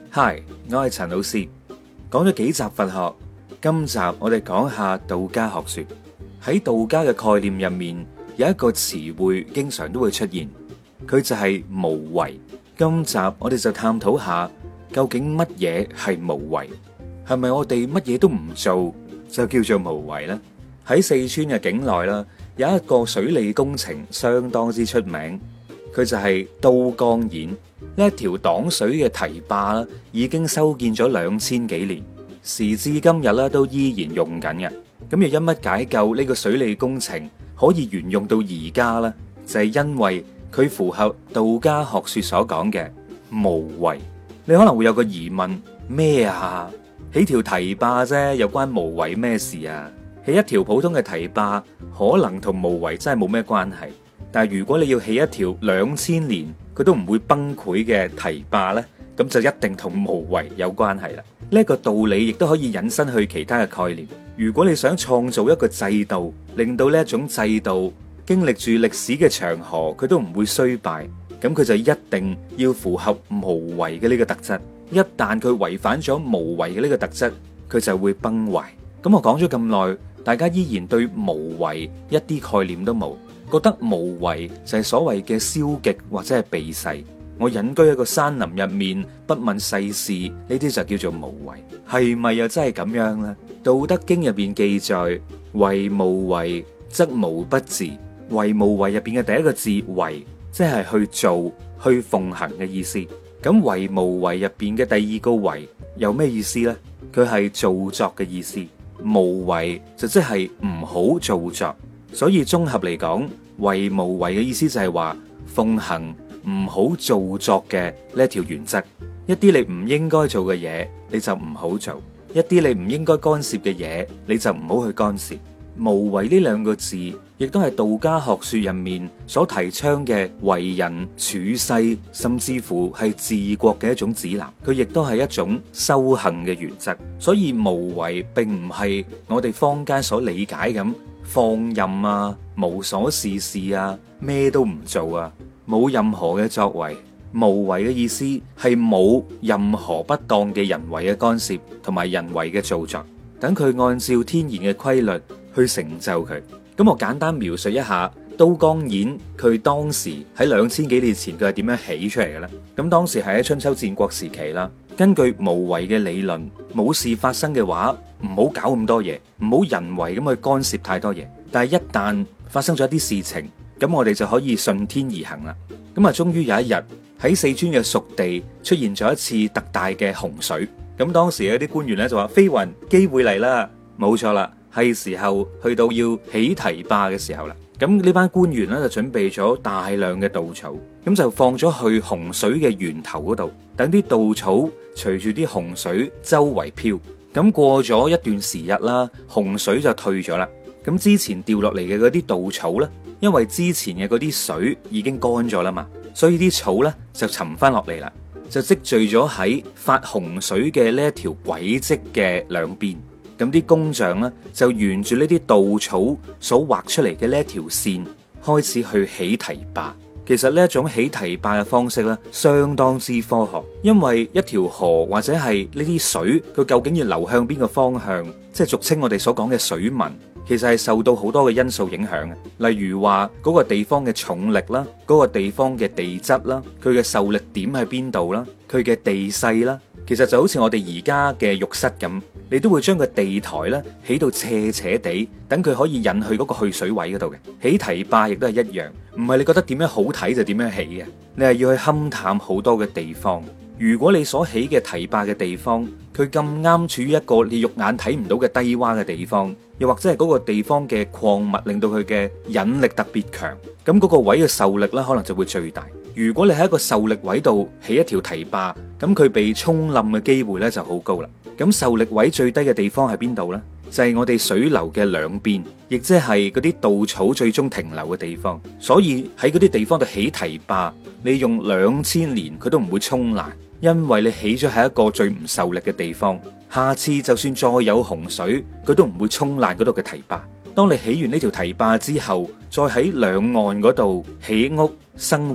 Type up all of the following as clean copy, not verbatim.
Hi，我係陳老師。講咗幾集佛學，今集我哋講下道家學說。喺道家嘅概念入面，有一個詞彙經常都會出現，佢就係無為。今集我哋就探討下，究竟乜嘢係無為？係咪我哋乜嘢都唔做就叫做無為呢？喺四川嘅境內啦，有一個水利工程相當之出名，佢就係都江堰。呢一條擋水嘅堤壩啦，已經修建咗2000幾年，時至今日咧都依然用緊嘅。咁又因乜解救呢個水利工程可以沿用到而家呢？就係因為佢符合道家學說所講嘅無為。你可能會有個疑問，咩啊？起條堤壩啫，有關無為咩事啊？起一條普通嘅堤壩，可能同無為真係冇咩關係。但係如果你要起一條2000年佢都唔會崩潰嘅堤壩呢，咁就一定同無為有關係啦。呢一個道理亦都可以引申去其他嘅概念。如果你想創造一個制度，令到呢一種制度經歷住歷史嘅長河，佢都唔會衰敗，咁佢就一定要符合無為嘅呢個特質。一旦佢違反咗無為嘅呢個特質，佢就會崩壞。咁我講咗咁耐，大家依然對無為一啲概念都冇。覺得無為就係所謂嘅消極或者係避世，我隱居喺個山林入面，不問世事，呢啲就叫做無為。係咪又真係咁樣呢？道德經入邊記載，為無為則無不治。為無為入邊嘅第一個字為，即係去做去奉行嘅意思。咁為無為入邊嘅第二個為有咩意思呢？佢係造作嘅意思。無為就即係唔好造作。所以綜合嚟講，為無為嘅意思就係話奉行唔好造作嘅呢一條原則。一啲你唔應該做嘅嘢，你就唔好做；一啲你唔應該干涉嘅嘢，你就唔好去干涉。無為呢兩個字，亦都係道家學說入面所提倡嘅為人處世，甚至乎係治國嘅一種指南。佢亦都係一種修行嘅原則。所以無為並唔係我哋坊間所理解咁放任啊，無所事事啊，咩都唔做啊，冇任何嘅作為。無為嘅意思係冇任何不當嘅人為嘅干涉同埋人為嘅造作，等佢按照天然嘅規律去成就佢。咁我簡單描述一下都江堰佢當時喺2000幾年前佢係點樣起出嚟嘅咧？咁當時係喺春秋戰國時期啦。根據無為嘅理論，冇事發生嘅話，唔好搞咁多嘢，唔好人為咁去干涉太多嘢。但係一旦發生咗一啲事情，咁我哋就可以順天而行啦。咁啊，終於有一日喺四川嘅蜀地出現咗一次特大嘅洪水。咁當時有啲官員咧就話：飛雲，機會嚟啦！冇錯啦，係時候去到要起堤壩嘅時候啦。咁呢班官員咧就準備咗大量嘅稻草，咁就放咗去洪水嘅源頭嗰度，等啲稻草隨住啲洪水周圍飄。咁過咗一段時日啦，洪水就退咗啦。咁之前掉落嚟嘅嗰啲稻草呢，因為之前嘅嗰啲水已經乾咗啦嘛，所以啲草呢就沉翻落嚟啦，就積聚咗喺發洪水嘅呢一條軌跡嘅兩邊。咁啲工匠咧就沿住呢啲稻草所畫出嚟嘅呢一條線開始去起堤壩。其實呢一種起堤壩嘅方式咧相當之科學，因為一條河或者係呢啲水，佢究竟要流向邊個方向，即係俗稱我哋所講嘅水文，其實係受到好多嘅因素影響嘅。例如話嗰個地方嘅重力啦，嗰個地方嘅地質啦，佢嘅受力點喺邊度啦，佢嘅地勢啦。其實就好似我哋而家嘅浴室咁，你都會將個地台咧起到斜斜地，等佢可以引去嗰個去水位嗰度嘅。起堤壩亦都係一樣，唔係你覺得點樣好睇就點樣起嘅，你係要去勘探好多嘅地方。如果你所起嘅堤壩嘅地方，佢咁啱處於一個你肉眼睇唔到嘅低洼嘅地方，又或者係嗰個地方嘅礦物令到佢嘅引力特別強，咁嗰個位嘅受力咧可能就會最大。如果你喺一個受力位度起一條堤壩，咁佢被沖冧嘅機會咧就好高啦。咁受力位最低嘅地方係邊度呢？就係我哋水流嘅兩邊，亦即係嗰啲稻草最終停留嘅地方。所以喺嗰啲地方度起堤壩，你用2000年佢都唔會沖爛，因為你起咗喺一個最唔受力嘅地方。下次就算再有洪水，佢都唔會沖爛嗰度嘅堤壩。當你起完呢條堤壩之後，再喺兩岸嗰度起屋生活，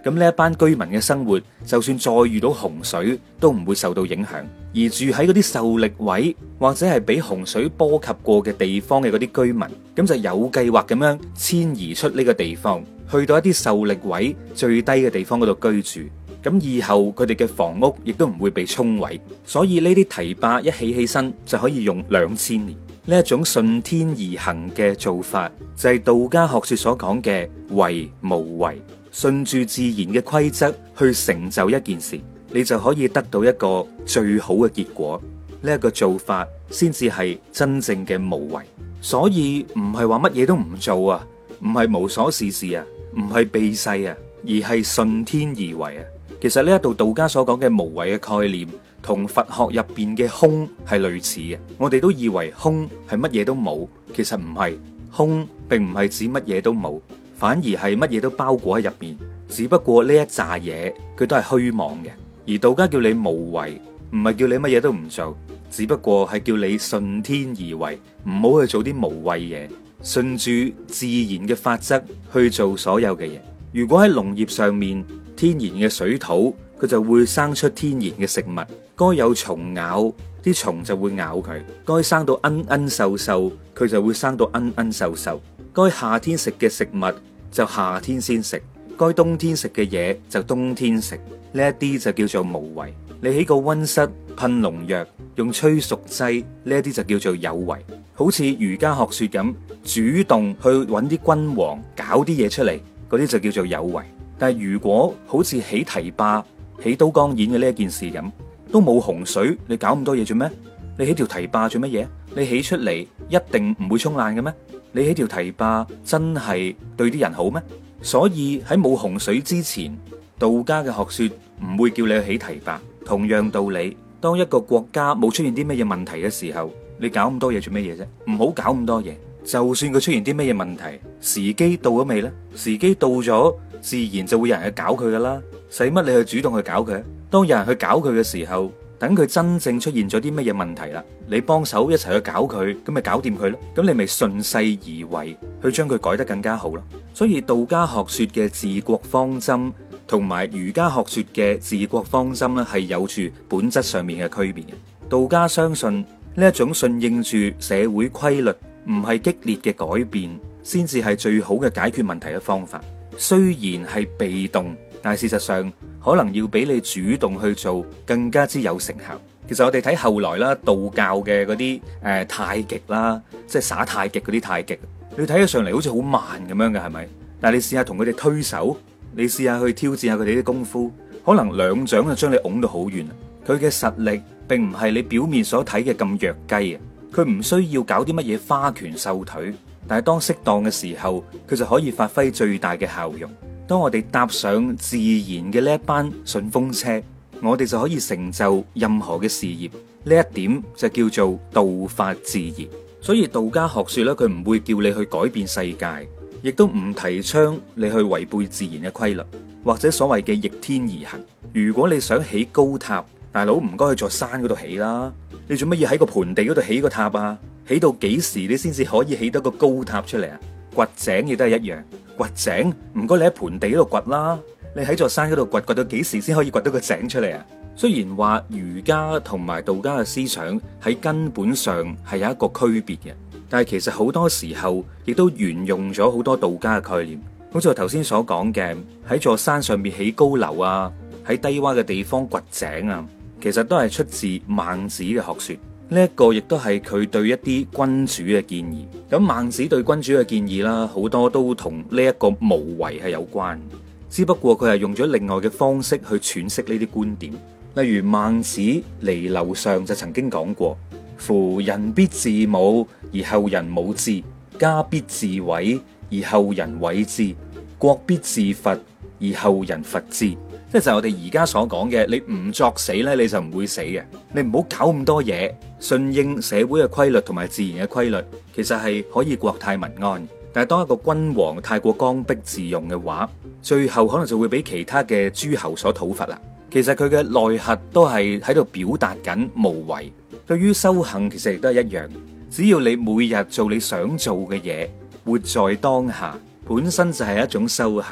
咁呢一班居民嘅生活，就算再遇到洪水，都唔會受到影響。而住喺嗰啲受力位或者係俾洪水波及過嘅地方嘅嗰啲居民，咁就有計劃咁樣遷移出呢個地方，去到一啲受力位最低嘅地方嗰度居住。咁以後佢哋嘅房屋亦都唔會被沖毀。所以呢啲堤壩一起身就可以用2000年。呢一種順天而行嘅做法，就係道家學說所講嘅為無為，順住自然嘅規則去成就一件事，你就可以得到一個最好嘅結果。呢一個做法先至係真正嘅無為。所以唔係話乜嘢都唔做啊，唔係無所事事啊，唔係避世啊，而係順天而為啊。其實呢一度道家所講嘅無為嘅概念，同佛學入邊嘅空係類似嘅。我哋都以為空係乜嘢都冇，其實唔係。空並唔係指乜嘢都冇，反而係乜嘢都包裹喺入面。只不過呢一紮嘢佢都係虛妄嘅。而道家叫你無為，唔係叫你乜嘢都唔做，只不過係叫你順天而為，唔好去做啲無謂嘢，順住自然嘅法則去做所有嘅嘢。如果喺農業上面，天然嘅水土，佢就會生出天然嘅食物。該有蟲咬，啲蟲就會咬佢；該生到奀奀瘦瘦，佢就會生到奀奀瘦瘦。該夏天食嘅食物就夏天先食，該冬天食嘅嘢就冬天食。呢一啲就叫做無為。你喺個溫室噴農藥，用催熟劑，呢一啲就叫做有為。好似儒家學說咁，主動去揾啲君王搞啲嘢出嚟，嗰啲就叫做有為。但係如果好似起堤壩、起都江堰嘅呢一件事咁，都冇洪水，你搞咁多嘢做咩？你起條堤壩做乜嘢？你起出嚟一定唔會沖爛嘅咩？你起條堤壩真係對啲人好咩？所以喺冇洪水之前，道家嘅學說唔會叫你去起堤壩。同樣道理，當一個國家冇出現啲乜嘢問題嘅時候，你搞咁多嘢做乜嘢啫？唔好搞咁多嘢。就算佢出現啲乜嘢問題，時機到咗未呢？時機到咗，自然就會有人去搞佢噶啦。使乜你去主動去搞佢？當有人去搞佢嘅時候，等佢真正出現咗啲乜嘢問題啦，你幫手一齊去搞佢，咁咪搞掂佢咯。咁你咪順勢而為，去將佢改得更加好咯。所以道家學說嘅治國方針，同埋儒家學說嘅治國方針咧，係有住本質上面嘅區別嘅。道家相信呢一種順應住社會規律，唔係激烈嘅改變，先至係最好嘅解決問題嘅方法。雖然係被動，但係事實上可能要比你主動去做更加之有成效。其實我哋睇後來啦，道教嘅嗰啲太極啦，即係耍太極嗰啲太極，你睇起上嚟好似好慢咁樣嘅，係咪？但係你試下同佢哋推手，你試下去挑戰下佢哋啲功夫，可能兩掌就將你拱到好遠。佢嘅實力並唔係你表面所睇嘅咁弱雞啊！佢唔需要搞啲乜嘢花拳繡腿，但係當適當嘅時候，佢就可以發揮最大嘅效用。當我哋搭上自然嘅呢一班順風車，我哋就可以成就任何嘅事業。呢一點就叫做道法自然。所以道家學說咧，佢唔會叫你去改變世界，亦都唔提倡你去違背自然嘅規律，或者所謂嘅逆天而行。如果你想起高塔，大佬唔該去座山嗰度起啦。你做乜要喺個盆地嗰度起個塔啊？起到幾時你先至可以起到個高塔出嚟啊？掘井亦都係一樣，掘井唔該你喺盆地嗰度掘啦。你喺座山嗰度掘，掘到幾時先可以掘到個井出嚟啊？雖然話儒家同埋道家嘅思想喺根本上係有一個區別嘅，但係其實好多時候亦都沿用咗好多道家嘅概念。好似我頭先所講嘅，喺座山上面起高樓啊，喺低洼嘅地方掘井啊，其實都係出自孟子嘅學說。呢一個亦都係佢對一啲君主嘅建議。咁孟子對君主嘅建議啦，好多都同呢一個無為係有關，只不過佢係用咗另外嘅方式去詮釋呢啲觀點。例如孟子離婁上就曾經講過：夫人必自侮而後人侮之，家必自毀而後人毀之，國必自伐而後人伐之。即係我哋而家所講嘅，你唔作死咧，你就唔會死嘅。你唔好搞咁多嘢，順應社會嘅規律同埋自然嘅規律，其實係可以國泰民安。但係當一個君王太過剛愎自用嘅話，最後可能就會俾其他嘅諸侯所討伐啦。其實佢嘅內核都係喺度表達緊無為。對於修行，其實亦都係一樣。只要你每日做你想做嘅嘢，活在當下，本身就係一種修行。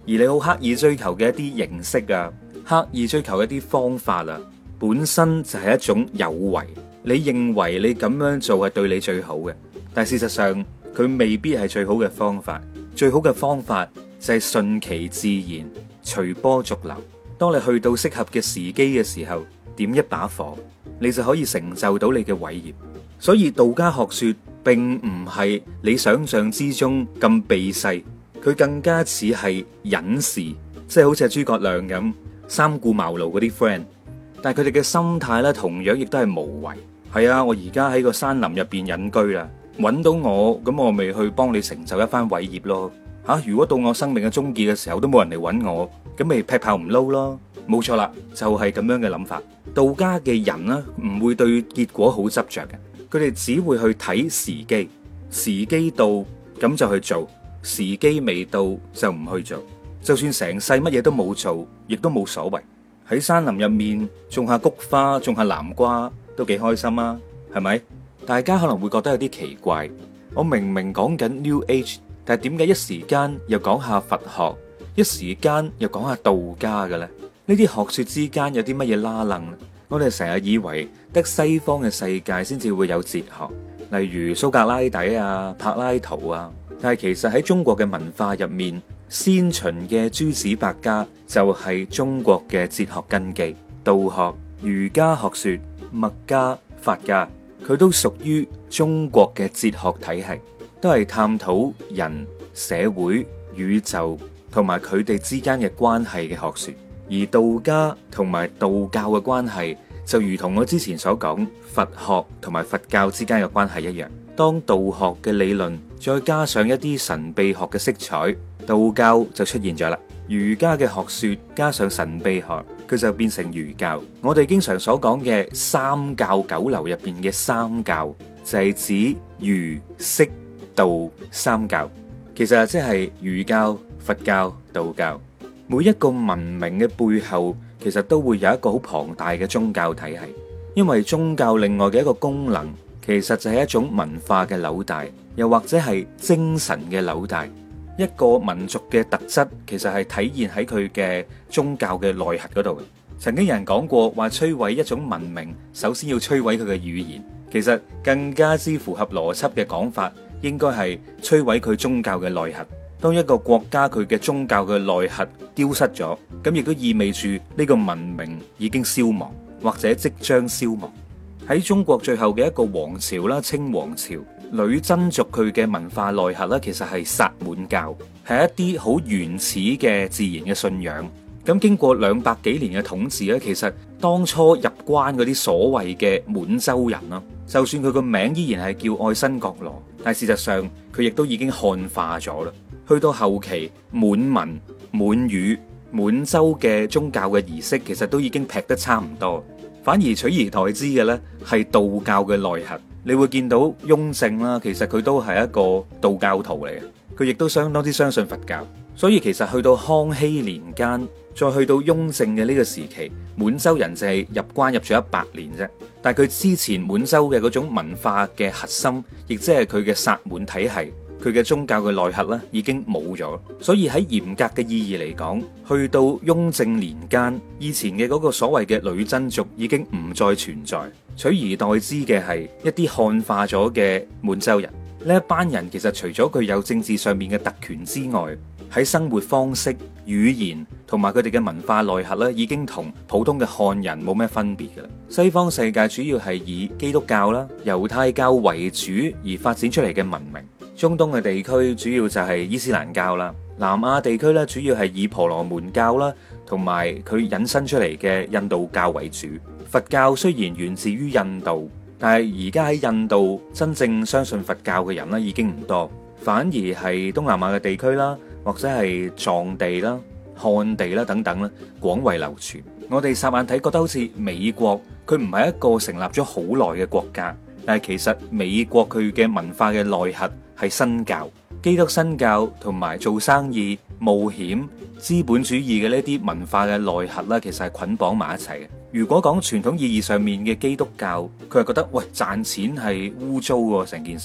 而你好刻意追求嘅一啲形式啊，刻意追求一啲方法啊，本身就係一種有為。你認為你咁樣做係對你最好嘅，但事實上佢未必係最好嘅方法。最好嘅方法就係順其自然，隨波逐流。當你去到適合嘅時機嘅時候，點一把火，你就可以成就到你嘅偉業。所以道家學說並唔係你想象之中咁避世，佢更加似係隱士，即係好似係諸葛亮咁三顧茅廬嗰啲 friend。但係佢哋嘅心態咧，同樣亦都係無為。係啊，我而家喺個山林入邊隱居啦，揾到我，咁我咪去幫你成就一番偉業咯。吓，如果到我生命嘅終結嘅時候都冇人嚟揾我，咁咪劈炮唔撈咯。冇錯啦，就係咁樣嘅諗法。道家嘅人呢，唔會對結果好執着嘅，佢哋只會去睇時機，時機到咁就去做，時機未到就唔去做。就算成世乜嘢都冇做，亦都冇所謂。喺山林入面種下菊花，種下南瓜，都幾開心啊，係咪？大家可能會覺得有啲奇怪，我明明講緊 New Age，但係點解一時間又講下佛學，一時間又講下道家嘅咧？呢啲學說之間有啲乜嘢拉楞呢？我哋成日以為得西方嘅世界先至會有哲學，例如蘇格拉底啊、柏拉圖啊，但係其實喺中國嘅文化入面，先秦嘅諸子百家就係中國嘅哲學根基。道學、儒家學說、墨家、法家，佢都屬於中國嘅哲學體系，都係探討人、社會、宇宙同埋佢哋之間嘅關係嘅學說。而道家同埋道教嘅關係，就如同我之前所講佛學同埋佛教之間嘅關係一樣。當道學嘅理論再加上一啲神秘學嘅色彩，道教就出現咗啦。儒家嘅學說加上神秘學，佢就變成儒教。我哋經常所講嘅三教九流入邊嘅三教，就係指儒釋道三教，其實即係儒教、佛教、道教。每一個文明嘅背後，其實都會有一個好龐大嘅宗教體系，因為宗教另外嘅一個功能，其實就係一種文化嘅紐帶，又或者係精神嘅紐帶。一個民族嘅特質，其實係體現喺佢嘅宗教嘅內核嗰度。曾經有人講過，話摧毀一種文明，首先要摧毀佢嘅語言。其實更加之符合邏輯嘅講法，應該係摧毀佢宗教嘅內核。當一個國家佢嘅宗教嘅內核丟失咗，咁亦都意味住呢個文明已經消亡，或者即將消亡。喺中國最後嘅一個王朝啦，清王朝，女真族佢嘅文化內核咧，其實係薩滿教，係一啲好原始嘅自然嘅信仰。咁經過200幾年嘅統治咧，其實當初入關嗰啲所謂嘅滿洲人啦，就算佢個名依然係叫愛新覺羅，但係事實上佢亦都已經漢化咗啦。去到後期，滿文、滿語、滿洲嘅宗教嘅儀式，其實都已經劈得差唔多，反而取而代之嘅呢係道教嘅內核。你會見到雍正啦，其實佢都係一個道教徒嚟嘅，佢亦都相當之相信佛教。所以其實去到康熙年間，再去到雍正嘅呢個時期，滿洲人就係入關入咗100年啫。但係佢之前滿洲嘅嗰種文化嘅核心，亦即係佢嘅薩滿體系。佢嘅宗教嘅內核咧已經冇咗，所以喺嚴格嘅意義嚟講，去到雍正年間，以前嘅嗰個所謂嘅女真族已經唔再存在，取而代之嘅係一啲漢化咗嘅滿洲人。呢一班人其實除咗佢有政治上面嘅特權之外，喺生活方式、語言同埋佢哋嘅文化內核咧，已經同普通嘅漢人冇咩分別㗎啦。西方世界主要係以基督教啦、猶太教為主而發展出嚟嘅文明。中東嘅地區主要就係伊斯蘭教啦，南亞地區咧主要係以婆羅門教啦，同埋佢引申出嚟嘅印度教為主。佛教雖然源自於印度，但係而家喺印度真正相信佛教嘅人咧已經唔多，反而係東南亞嘅地區啦，或者係藏地啦、漢地啦等等啦，廣為流傳。我哋霎眼睇覺得好似美國，佢唔係一個成立咗好耐嘅國家，但係其實美國佢嘅文化嘅內核係新教、基督新教同埋做生意、冒險、資本主義嘅呢啲文化嘅內核啦，其實係捆綁埋一齊嘅。如果講傳統意義上面嘅基督教，佢係覺得喂，賺錢係污糟喎，成件事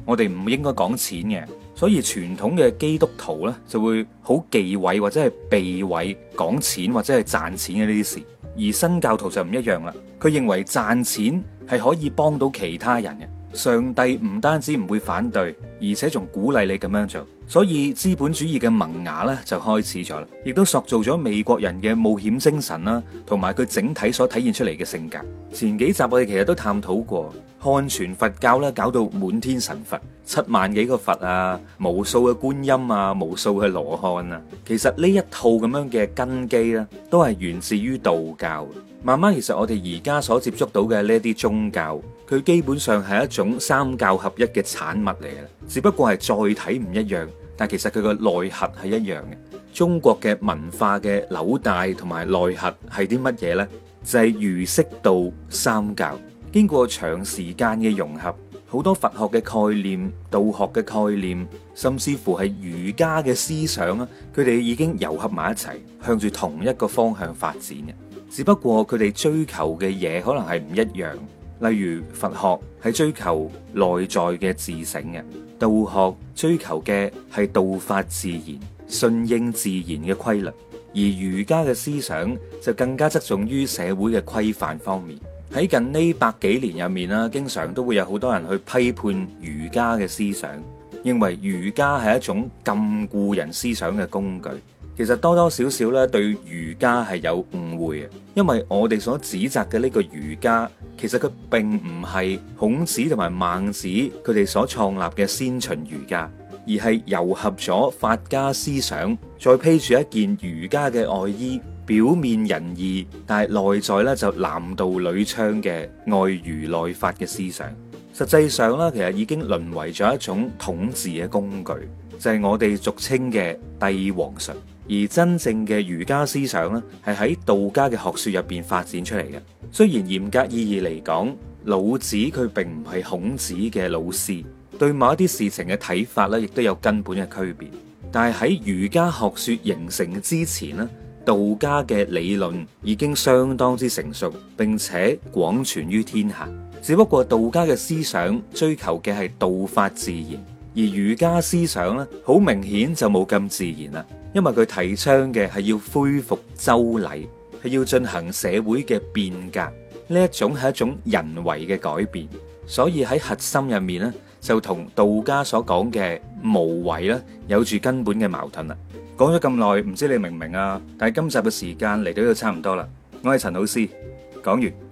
我哋唔應該講錢嘅。所以傳統嘅基督徒呢，就會好忌諱或者係避諱講錢或者係賺錢嘅呢啲事，而新教徒就唔一樣啦。佢認為賺錢係可以幫到其他人嘅，上帝唔單止唔會反對，而且仲鼓勵你咁樣做。所以資本主義嘅萌芽咧就開始咗啦，亦都塑造咗美國人嘅冒險精神啦，同埋佢整體所體現出嚟嘅性格。前幾集我哋其實都探討過漢傳佛教咧，搞到滿天神佛，7萬幾個佛啊，無數嘅觀音啊，無數嘅羅漢啊。其實呢一套咁樣嘅根基咧，都係源自於道教。慢慢其實我哋而家所接觸到嘅呢啲宗教，佢基本上係一種三教合一嘅產物嚟嘅，只不過係載體唔一樣，但其實佢個內核係一樣嘅。中國嘅文化嘅紐帶同埋內核係啲乜嘢呢？就係儒釋道三教，經過長時間嘅融合，好多佛學嘅概念、道學嘅概念，甚至乎係儒家嘅思想啊，佢哋已經糅合埋一齊，向住同一個方向發展嘅。只不過佢哋追求嘅嘢可能係唔一樣，例如佛學係追求內在嘅自省嘅，道學追求嘅係道法自然、順應自然嘅規律，而儒家嘅思想就更加側重於社會嘅規範方面。喺近呢100幾年入面啦，經常都會有好多人去批判儒家嘅思想，認為儒家係一種禁錮人思想嘅工具。其實多多少少咧對儒家係有誤會嘅，因為我哋所指責嘅呢個儒家，其實佢並唔係孔子同埋孟子佢哋所創立嘅先秦儒家，而係糅合咗法家思想，再披住一件儒家嘅外衣，表面仁義，但係內在咧就男盜女娼嘅外儒內法嘅思想。實際上咧，其實已經淪為咗一種統治嘅工具，就係我哋俗稱嘅帝王術。而真正嘅儒家思想咧，係喺道家嘅學說入邊發展出嚟嘅。雖然嚴格意義嚟講，老子佢並唔係孔子嘅老師，對某一啲事情嘅睇法咧，亦都有根本嘅區別。但係喺儒家學說形成之前咧，道家嘅理論已經相當之成熟，並且廣傳於天下。只不過道家嘅思想追求嘅係道法自然，而儒家思想咧，好明顯就冇咁自然啦。因為佢提倡嘅係要恢復周禮，係要進行社會嘅變革，呢一種係一種人為嘅改變，所以喺核心入面咧，就同道家所講嘅無為咧，有住根本嘅矛盾啦。講咗咁耐，唔知你明唔明啊？但係今集嘅時間嚟到呢度差唔多啦，我係陳老師，講完。